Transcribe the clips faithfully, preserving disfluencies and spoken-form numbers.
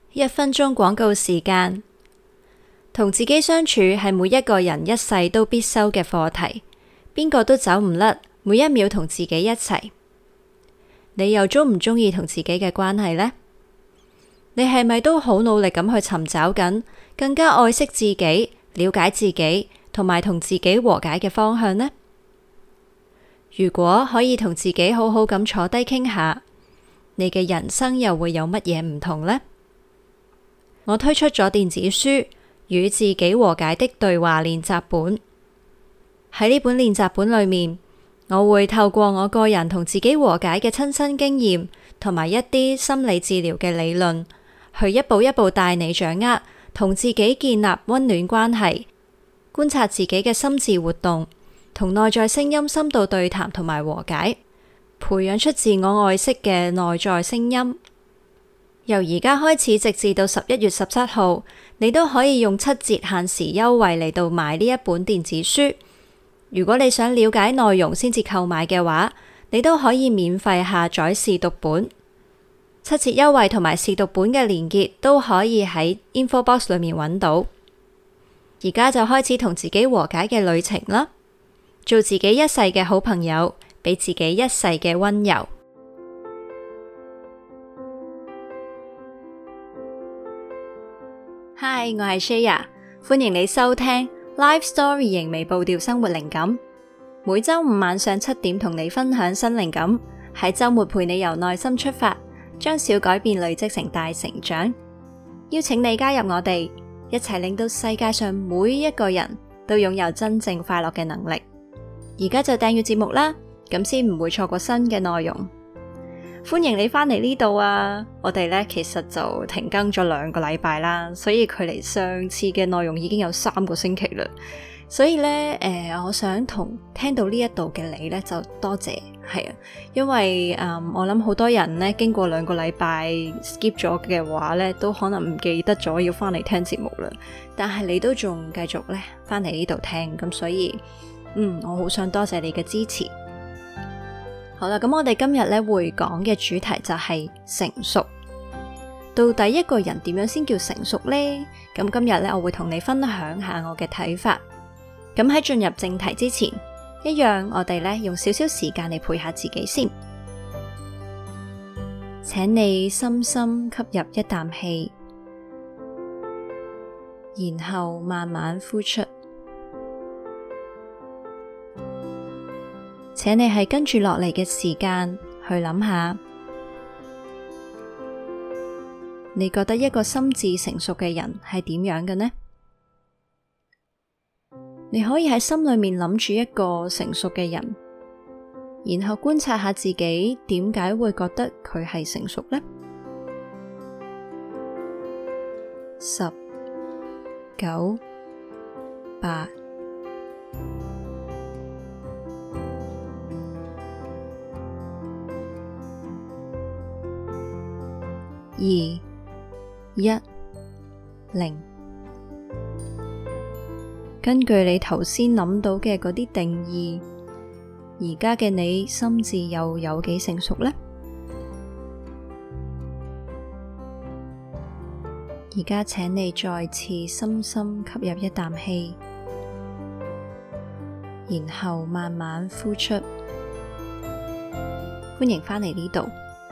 一分鐘廣告時間。同自己相處係每一個人一世都必修嘅課題，邊個都走唔甩，每一秒同自己一齊。你又鍾唔鍾意同自己嘅關係呢？你係咪都好努力咁去尋找緊更加愛惜自己、了解自己同埋同自己和解嘅方向呢？如果可以同自己好好咁坐低傾下，你嘅人生又會有乜嘢唔同呢？我推出咗電子書《與自己和解的對話練習本》。喺呢本練習本裏面，我會透過我個人同自己和解嘅親身經驗，同埋一啲心理治療嘅理論，去一步一步帶你掌握同自己建立溫暖關係，觀察自己嘅心智活動，同內在聲音深度對談同埋和解，培養出自我愛惜嘅內在聲音。由而家開始直至到十一月十七號，你都可以用七折限時優惠嚟到買呢一本電子書。如果你想了解內容先至購買嘅話，你都可以免費下載試讀本。七折優惠同埋試讀本嘅連結都可以喺 info box 裏面揾到。而家就開始同自己和解嘅旅程啦，做自己一世嘅好朋友，俾自己一世嘅溫柔。Hi， 我係 Shaya， 歡迎你收聽 Life Story 型微步調生活靈感。每周五晚上七點同你分享新靈感，喺周末陪你由內心出發，將小改變累積成大成長。邀請你加入我哋，一齊令到世界上每一個人都擁有真正快樂嘅能力。而家就訂閱節目啦，咁先唔會錯過新嘅內容。歡迎你返嚟呢度啊！我哋咧其實就停更咗兩個禮拜啦，所以距離上次嘅內容已經有三個星期啦。所以咧，誒、呃，我想同聽到呢一度嘅你咧，就多謝，係啊，因為誒、嗯，我諗好多人咧經過兩個禮拜 skip 咗嘅話咧，都可能唔記得咗要返嚟聽節目啦。但係你都仲繼續咧返嚟呢度聽，咁所以，嗯，我好想多謝你嘅支持。好啦，咁我哋今日咧會講嘅主題就係成熟。到底一個人點樣先叫成熟呢？咁今日咧我會同你分享下我嘅睇法。咁喺進入正題之前，一樣我哋咧用少少時間嚟陪下自己先。請你深深吸入一啖氣，然後慢慢呼出。請你喺跟住落嚟嘅時間去諗下，你覺得一個心智成熟嘅人係點樣嘅呢？你可以喺心裏面諗住一個成熟嘅人，然後觀察下自己點解會覺得佢係成熟呢？十、九、八、二、一、零。根據你頭先諗到嘅嗰啲定義，而家嘅你心智又有幾成熟呢？而家請你再次深深吸入一啖氣，然後慢慢呼出。歡迎返嚟呢度。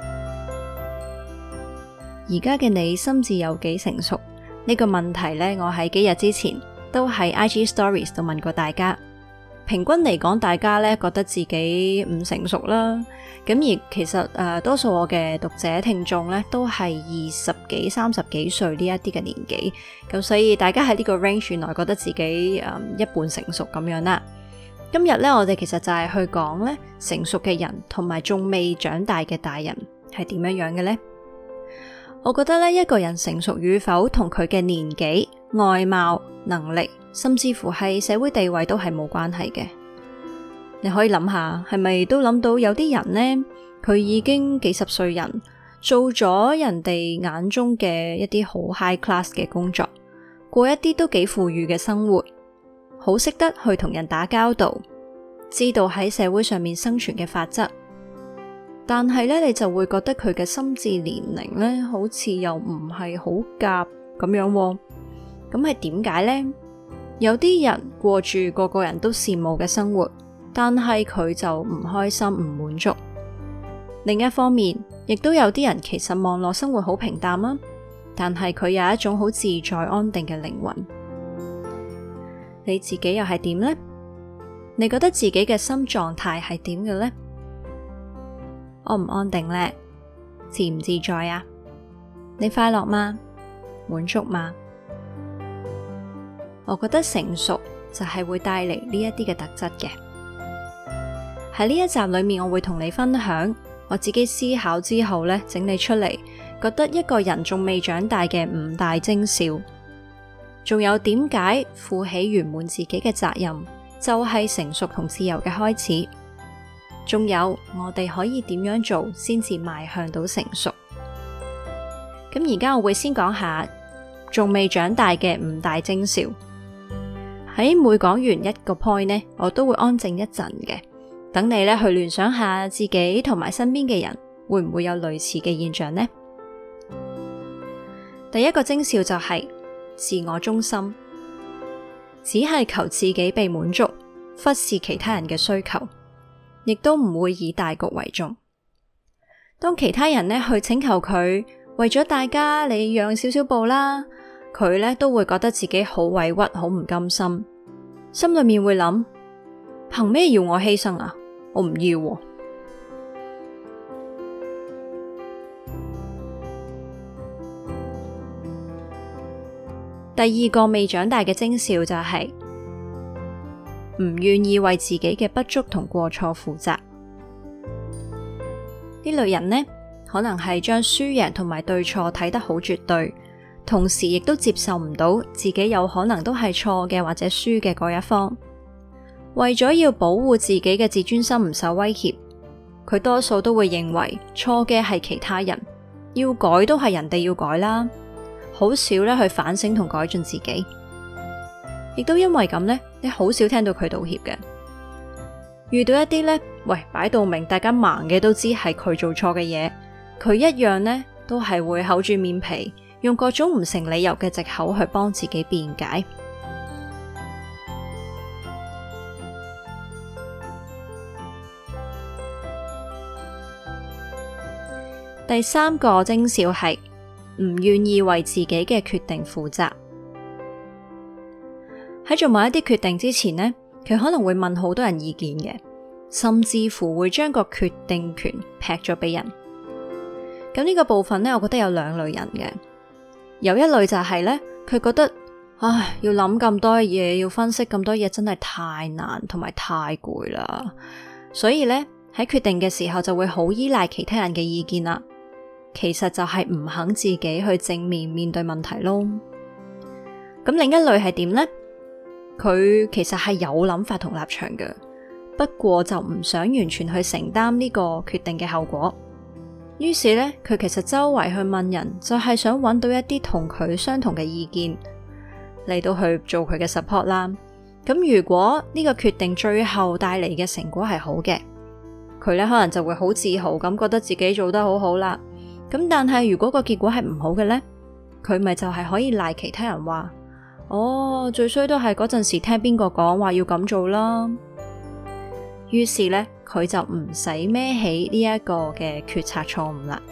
而家嘅你心智有幾成熟？呢個問題呢，我喺幾日之前都喺 I G Stories 度問過大家。平均嚟講，大家呢覺得自己唔成熟啦。咁而其實誒、呃，多數我嘅讀者聽眾呢都係二十幾、三十幾歲呢一啲嘅年紀。咁所以大家喺呢個 range 內覺得自己誒、嗯、一半成熟咁樣啦。今日呢，我哋其實就係去講呢成熟嘅人同埋仲未長大嘅大人係點樣樣嘅呢？我覺得咧，一個人成熟與否同佢嘅年紀、外貌、能力，甚至乎係社會地位都係冇關係嘅。你可以諗下，係咪都諗到有啲人呢，佢已經幾十歲人，做咗人哋眼中嘅一啲好 high class 嘅工作，過一啲都幾富裕嘅生活，好識得去同人打交道，知道喺社會上面生存嘅法則。 但係咧你就會覺得佢嘅心智年齡咧好似又唔係好夾咁樣喎。咁係點解呢？有啲人過住個個人都羨慕嘅生活，但係佢就唔開心唔滿足。另一方面，亦都有啲人其實望落生活好平淡啦，但係佢有一種好自在安定嘅靈魂。你自己又係點呢？你覺得自己嘅心狀態係點嘅呢？安唔安定呢？自唔自在啊？你快樂嗎？滿足嗎？我覺得成熟就係會帶嚟呢一啲嘅特質嘅。喺呢一集裏面，我會同你分享我自己思考之後呢，整理出嚟，覺得一個人仲未長大嘅五大徵兆，仲有點解負起圓滿自己嘅責任，就係成熟同自由嘅開始。仲有我哋可以點樣做先至邁向到成熟。咁而家我會先講下仲未長大嘅五大徵兆。喺每講完一個 point 呢，我都會安靜一陣嘅，等你咧去聯想下自己同埋身邊嘅人會唔會有類似嘅現象呢？第一個徵兆就係自我中心，只係求自己被滿足，忽視其他人嘅需求，亦都唔會以大局為重。當其他人呢去請求佢為咗大家你讓少少步啦，佢呢都會覺得自己好委屈，好唔甘心，心裏面會諗：憑咩要我犧牲啊？我唔要喎。第二個未長大嘅徵兆就係唔願意為自己嘅不足同過錯負責。呢類人呢，可能係將輸贏同埋對錯睇得好絕對，同時亦都接受唔到自己有可能都係錯嘅或者輸嘅嗰一方。為咗要保護自己嘅自尊心唔受威脅，佢多數都會認為錯嘅係其他人，要改都係人哋要改啦，好少咧去反省同改進自己。亦都因為咁呢，你好少聽到佢道歉嘅。遇到一啲呢，喂，擺到明大家盲嘅都知係佢做錯嘅嘢，佢一樣呢都係會厚住面皮，用各種唔成理由嘅藉口去幫自己辯解。第三個徵兆係唔願意為自己嘅決定負責。喺做某一啲決定之前呢，佢可能會問好多人意見嘅，甚至乎會將個決定權劈咗俾人。咁呢個部分呢，我覺得有兩類人嘅。有一類就係呢，佢覺得唉，要諗咁多嘢，要分析咁多嘢，真係太難同埋太攰啦。所以呢，喺決定嘅時候就會好依賴其他人嘅意見啦。其實就係唔肯自己去正面面對問題咯。咁另一類係點呢？佢其實係有諗法同立場嘅，不過就唔想完全去承擔呢個決定嘅後果。於是呢，佢其實周圍去問人，就係想揾到一啲同佢相同嘅意見嚟到去做佢嘅 support 啦。咁如果呢個決定最後帶嚟嘅成果係好嘅，佢呢可能就會好自豪咁覺得自己做得好好啦。咁但係如果個結果係唔好嘅呢，佢咪就係可以賴其他人話，哦，最衰都係嗰陣時聽邊個講話要咁做啦。於是呢，佢就唔使孭起呢一個嘅決策錯誤啦。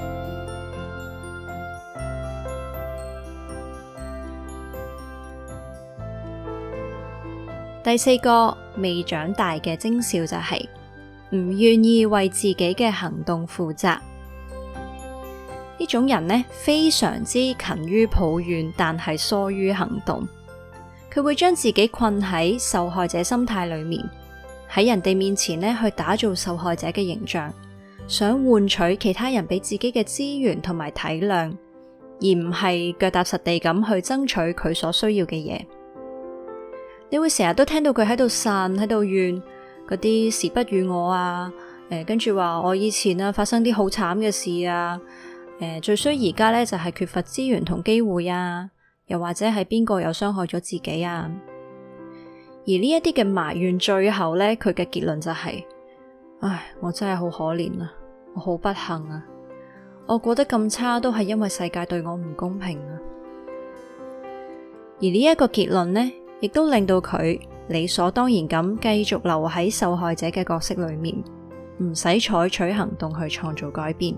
第四個未長大嘅徵兆就係唔願意為自己嘅行動負責。呢種人呢，非常之勤於抱怨，但係疏於行動。佢會將自己困喺受害者心態裏面，喺人哋面前呢去打造受害者嘅形象，想換取其他人俾自己嘅資源同埋體諒，而唔係腳踏實地咁去爭取佢所需要嘅嘢。你會成日都聽到佢喺度呻，喺度怨嗰啲時不與我啊，誒、呃，跟住話我以前啊發生啲好慘嘅事啊。誒、呃，最衰而家咧就係、是、缺乏資源同機會啊，又或者係邊個又傷害咗自己啊？而呢一啲嘅埋怨，最後咧佢嘅結論就係、是，唉，我真係好可憐啊！ 我好不幸啊，我過得咁差都係因為世界對我唔公平啊。而呢一個結論呢，亦都令到佢理所當然咁繼續留喺受害者嘅角色裏面，唔使採取行動去創造改變。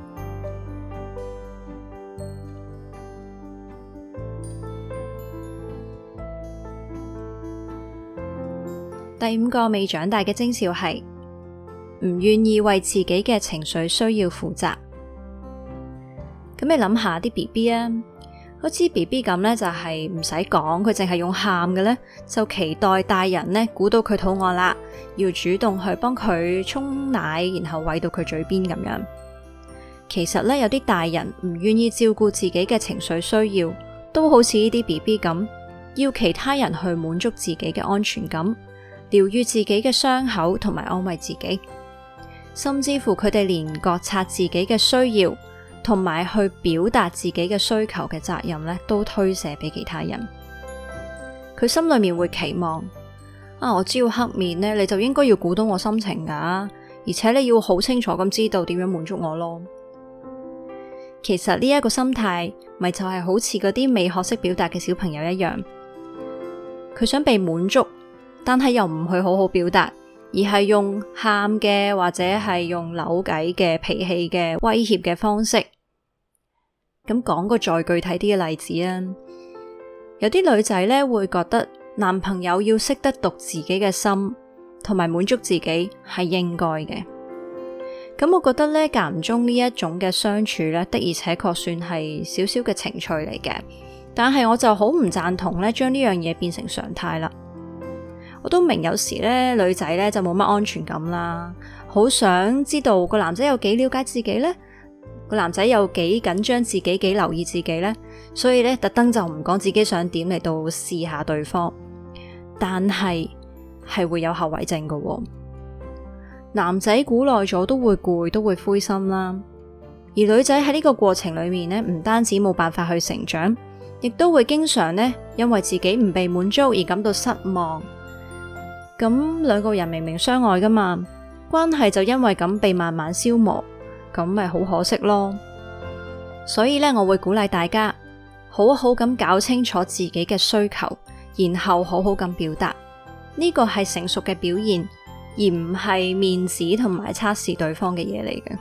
第五個未長大嘅徵兆係唔願意為自己嘅情緒需要負責。咁你諗下啲 B B 啊，好似 B B 咁呢，就係唔使講，佢淨係用喊嘅呢，就期待大人呢估到佢肚餓啦，要主動去幫佢沖奶，然後餵到佢嘴邊咁樣。其實呢，有啲大人唔願意照顧自己嘅情緒需要，都好似呢啲 B B 咁，要其他人去滿足自己嘅安全感，療癒自己嘅傷口同埋安慰自己，甚至乎佢哋連覺察自己嘅需要同埋去表達自己嘅需求嘅責任呢，都推卸俾其他人。佢心裏面會期望啊，我只要黑面呢，你就應該要估到我心情噶，而且你要好清楚咁知道點樣滿足我咯。其實呢一個心態咪就係好似嗰啲未學識表達嘅小朋友一樣，佢想被滿足，但係又唔去好好表達，而係用喊嘅或者係用扭計嘅脾氣嘅威脅嘅方式。咁講個再具體啲嘅例子啊，有啲女仔呢會覺得男朋友要識得讀自己嘅心，同埋滿足自己係應該嘅。咁我覺得呢，間唔中呢一種嘅相處呢，的而且確算係少少嘅情趣嚟嘅，但係我就好唔贊同呢將呢樣嘢變成常態啦。我都明有時咧，女仔咧就冇乜安全感啦，好想知道個男仔有幾了解自己呢，個男仔有幾緊張自己，幾留意自己呢，所以咧特登就唔講自己想點嚟到試下對方，但係係會有後遺症噶喎。男仔估耐咗都會攰，都會灰心啦，而女仔喺呢個過程裏面呢，唔單止冇辦法去成長，亦都會經常呢因為自己唔被滿足而感到失望。咁兩個人明明相愛噶嘛，關係就因為咁被慢慢消磨，咁咪好可惜咯。所以呢，我會鼓勵大家好好咁搞清楚自己嘅需求，然後好好咁表達，呢個係成熟嘅表現，而唔係面子同埋測試對方嘅嘢嚟嘅。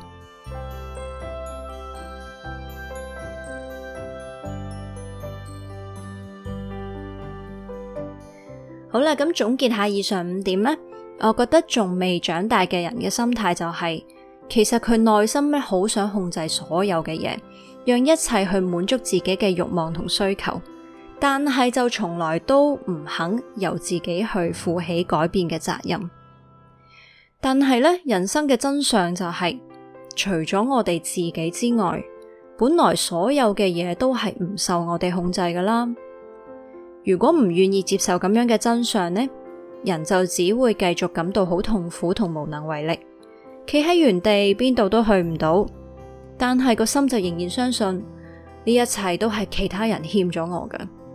好啦，咁總結下以上五點呢，我覺得仲未長大嘅人嘅心態就係，其實佢內心咧好想控制所有嘅嘢，讓一切去滿足自己嘅慾望同需求，但係就從來都唔肯由自己去負起改變嘅責任。但係呢，人生嘅真相就係，除咗我哋自己之外，本來所有嘅嘢都係唔受我哋控制㗎啦。如果唔願意接受咁樣嘅真相呢，人就只會繼續感到好痛苦同無能為力，企喺原地邊度都去唔到，但係個心就仍然相信呢一切都係其他人欠咗我㗎。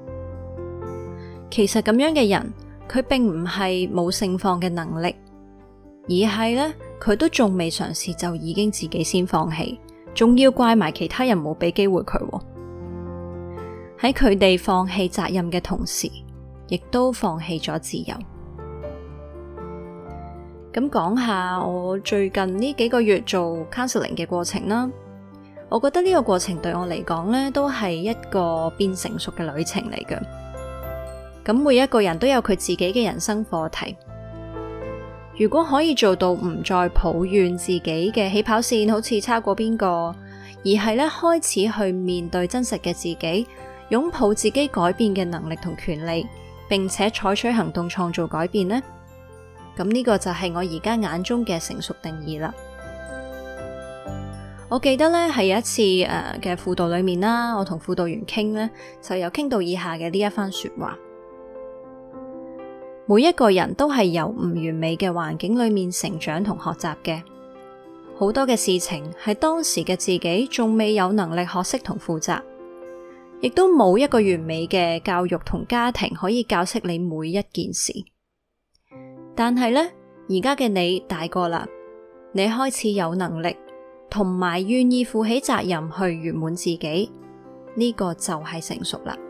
其實咁樣嘅人，佢並唔係冇盛放嘅能力，而係呢，佢都仲未嘗試就已經自己先放棄，仲要怪埋其他人冇俾機會佢喎。喺佢哋放棄責任嘅同時，亦都放棄咗自由。咁講下我最近呢幾個月做 counseling 嘅過程啦，我覺得呢個過程對我嚟講呢，都係一個變成熟嘅旅程嚟嘅。咁每一個人都有佢自己嘅人生課題。如果可以做到唔再抱怨自己嘅起跑線好似差過邊個，而係咧開始去面對真實嘅自己，擁抱自己改變嘅能力同權利，並且採取行動創造改變呢，咁呢個就係我而家眼中嘅成熟定義啦。我記得咧係有一次誒嘅輔導裏面啦，我同輔導員傾呢，就有傾到以下嘅呢一番說話：每一個人都係由唔完美嘅環境裏面成長同學習嘅，好多嘅事情係當時嘅自己仲未有能力學識同負責。亦都冇一個完美嘅教育同家庭可以教識你每一件事。但係呢，而家嘅你大個啦，你開始有能力同埋願意負起責任去圓滿自己，呢個就係成熟啦。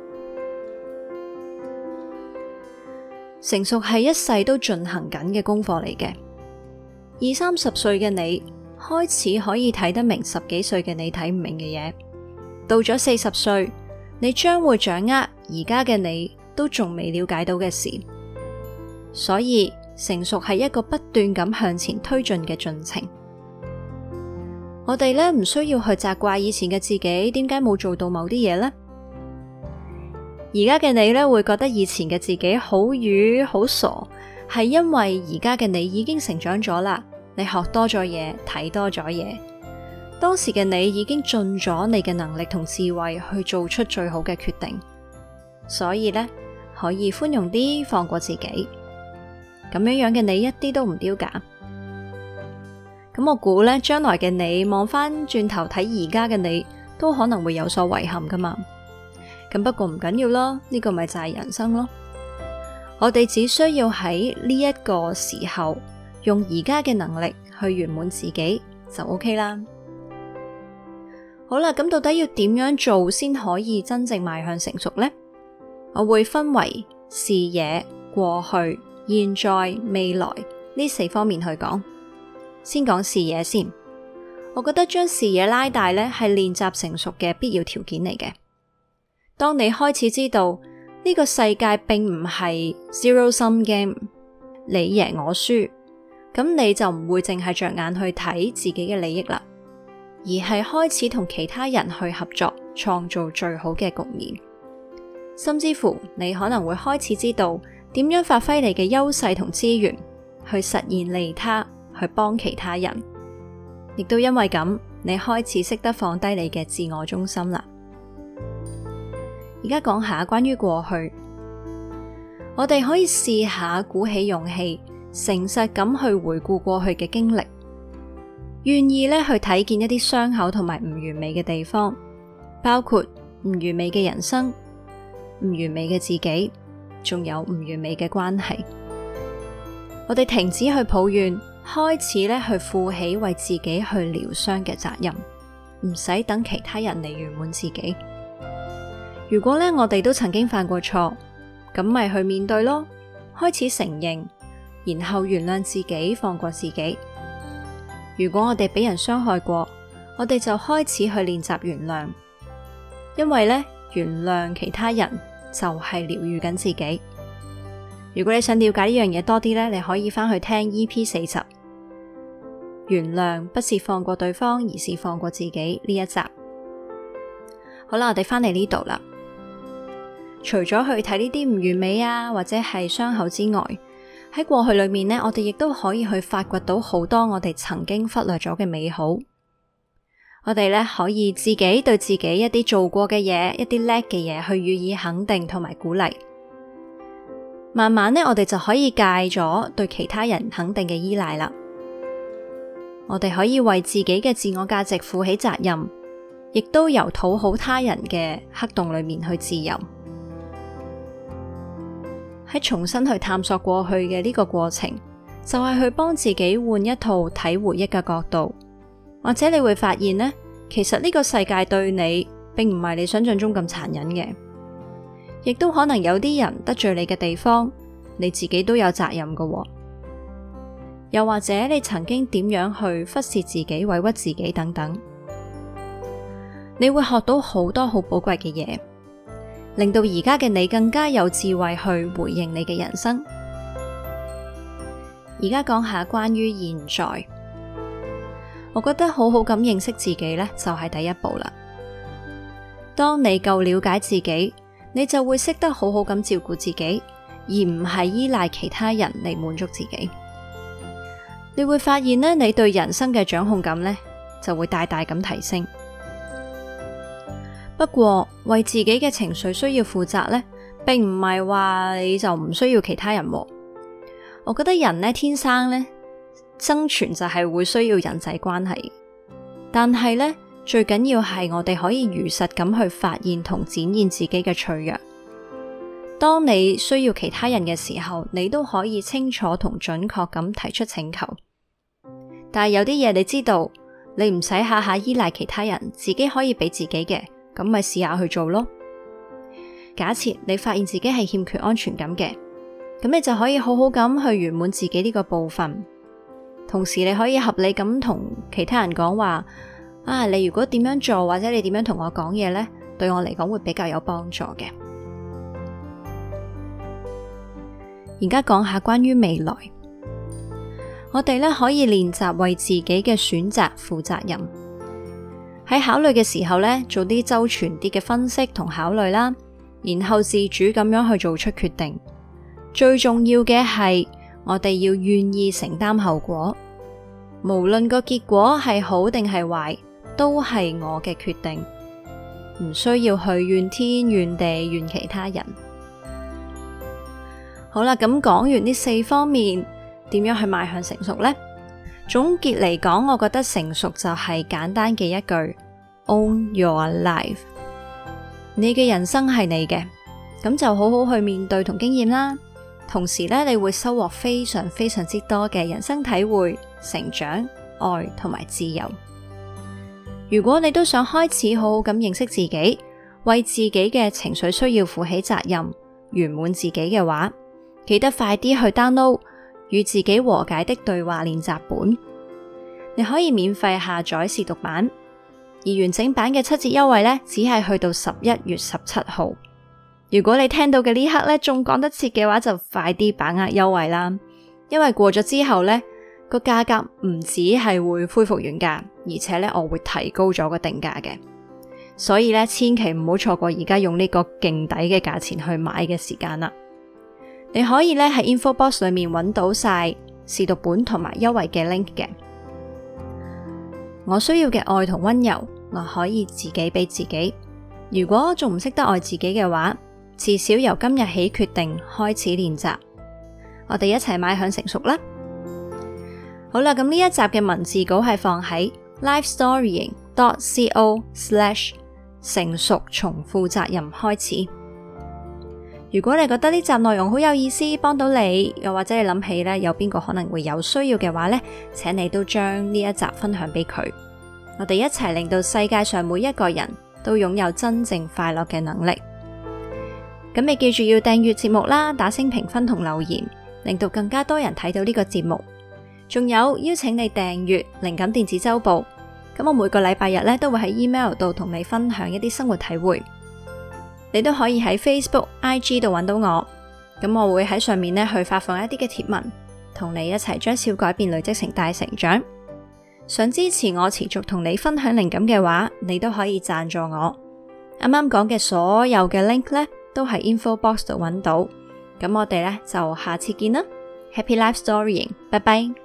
成熟係一世都進行緊嘅功課嚟嘅。二三十歲嘅你開始可以睇得明十幾歲嘅你睇唔明嘅嘢，到咗四十歲，你將會掌握而家嘅你都仲未了解到嘅事。所以成熟係一個不斷咁向前推進嘅進程。我哋呢唔需要去責怪以前嘅自己點解冇做到某啲嘢呢？而家嘅你呢，會覺得以前嘅自己好愚好傻，係因為而家嘅你已經成長咗啦，你學多咗嘢，睇多咗嘢。當時嘅你已經盡咗你嘅能力同智慧去做出最好嘅決定，所以呢，可以寬容啲，放過自己。咁樣樣嘅你一啲都唔丟架。咁我估呢，將來嘅你望翻轉頭睇而家嘅你，都可能會有所遺憾噶嘛。咁不過唔緊要咯，呢個咪就係人生咯。我哋只需要喺呢一個時候，用而家嘅能力去圓滿自己就 OK 啦。好啦，咁到底要點樣做先可以真正邁向成熟呢？我會分為視野、過去、現在、未來呢四方面去講。先講視野先，我覺得將視野拉大呢係練習成熟嘅必要條件嚟嘅。當你開始知道呢個世界並唔係 zero sum game， 你贏我輸，咁你就唔會淨係着眼去睇自己嘅利益啦，而係開始同其他人去合作，創造最好嘅局面。甚至乎你可能會開始知道點樣發揮你嘅優勢同資源，去實現利他，去幫其他人。亦都因為咁，你開始識得放低你嘅自我中心啦。而家講下關於過去，我哋可以試下鼓起勇氣，誠實咁去回顧過去嘅經歷，願意咧去睇見一啲傷口同埋唔完美嘅地方，包括唔完美嘅人生、唔完美嘅自己，仲有唔完美嘅關係。我哋停止去抱怨，開始咧去負起為自己去療傷嘅責任，唔使等其他人嚟圓滿自己。如果咧我哋都曾經犯過錯，咁咪去面對咯，開始承認，然後原諒自己，放過自己。如果我哋俾人傷害過，我哋就開始去練習原諒，因為咧原諒其他人就係療癒緊自己。如果你想了解呢樣嘢多啲咧，你可以翻去聽 E P 四十，原諒不是放過對方，而是放過自己呢一集。好啦，我哋翻嚟呢度啦。除咗去睇呢啲唔完美啊，或者係傷口之外，喺過去裏面呢，我哋亦都可以去發掘到好多我哋曾經忽略咗嘅美好。我哋呢可以自己對自己一啲做過嘅嘢，一啲叻嘅嘢去予以肯定同埋鼓勵。慢慢呢，我哋就可以戒咗對其他人肯定嘅依賴啦。我哋可以為自己嘅自我價值負起責任，亦都由討好他人嘅黑洞裏面去自由。喺重新去探索過去嘅呢個過程，就係去幫自己換一套睇回憶嘅角度，或者你會發現呢，其實呢個世界對你並唔係你想象中咁殘忍嘅，亦都可能有啲人得罪你嘅地方，你自己都有責任㗎喎。又或者你曾經點樣去忽視自己、委屈自己等等，你會學到好多好寶貴嘅嘢，令到而家嘅你更加有智慧去回應你嘅人生。而家講下關於現在，我覺得好好咁認識自己呢，就係第一步啦。當你夠了解自己，你就會識得好好咁照顧自己，而唔係依賴其他人嚟滿足自己。你會發現呢，你對人生嘅掌控感呢，就會大大咁提升。不過為自己嘅情緒需要負責呢，並唔係話你就唔需要其他人喎。我覺得人呢，天生呢，生存就係會需要人際關係，但係呢，最緊要係我哋可以如實咁去發現同展現自己嘅脆弱。當你需要其他人嘅時候，你都可以清楚同準確咁提出請求。但係有啲嘢你知道， 你唔使下下依賴其他人，自己可以俾自己嘅，咁咪試下去做咯。假設你發現自己係欠缺安全感嘅，咁你就可以好好咁去圓滿自己呢個部分。同時你可以合理咁同其他人講話，啊，你如果點樣做，或者你點樣同我講嘢呢，對我嚟講會比較有幫助嘅。而家講下關於未來，我哋咧可以練習為自己嘅選擇負責任。喺考慮嘅時候咧，做啲周全啲嘅分析同考慮啦。然後自主咁樣去做出決定，最重要嘅係我哋要願意承擔後果，無論個結果係好定係壞，都係我嘅決定，唔需要去怨天怨地怨其他人。好啦，咁講完呢四方面，點樣去邁向成熟呢？總結嚟講，我覺得成熟就係簡單嘅一句 Own your life。你嘅人生係你嘅，咁就好好去面對同經驗啦。同時咧，你會收穫非常非常之多嘅人生體會、成長、愛同埋自由。如果你都想開始好好咁認識自己，為自己嘅情緒需要負起責任，圓滿自己嘅話，記得快啲去 download 與自己和解的對話練習本。你可以免費下載試讀版。而完整版嘅七折優惠呢，只係去到十一月十七號。如果你聽到嘅呢刻呢，仲趕得切嘅話，就快啲把握優惠啦。因為過咗之後呢，個價格唔止係會恢復原價，而且呢，我會提高咗個定價嘅。所以呢，千祈唔好錯過而家用呢個勁抵嘅價錢去買嘅時間啦。你可以呢喺 info box 裏面揾到晒試讀本同埋優惠嘅 link 嘅。我需要嘅愛同溫柔，我可以自己俾自己。如果仲唔識得愛自己嘅話，至少由今日起決定開始練習。我哋一齊邁向成熟啦。好啦，咁呢一集嘅文字稿係放喺 lifestorying dot co slash 成熟從負責任開始。如果你覺得呢集內容好有意思，幫到你，又或者你諗起咧有邊個可能會有需要嘅話咧，請你都將呢一集分享俾佢。我哋一齊令到世界上每一個人都擁有真正快樂嘅能力。咁你記住要訂閱節目啦，打星評分同留言，令到更加多人睇到呢個節目。仲有邀請你訂閱靈感電子週報。咁我每個禮拜日咧都會喺 email 度同你分享一啲生活體會。你都可以喺 Facebook、I G 度揾到我，咁我會喺上面呢去發放一啲嘅貼文，同你一齊將小改變累積成大成長。想支持我持續同你分享靈感嘅話，你都可以贊助我。啱啱講嘅所有嘅 link 呢，都喺 info box 度揾到。咁我哋呢就下次見啦。Happy Life Storying，拜拜。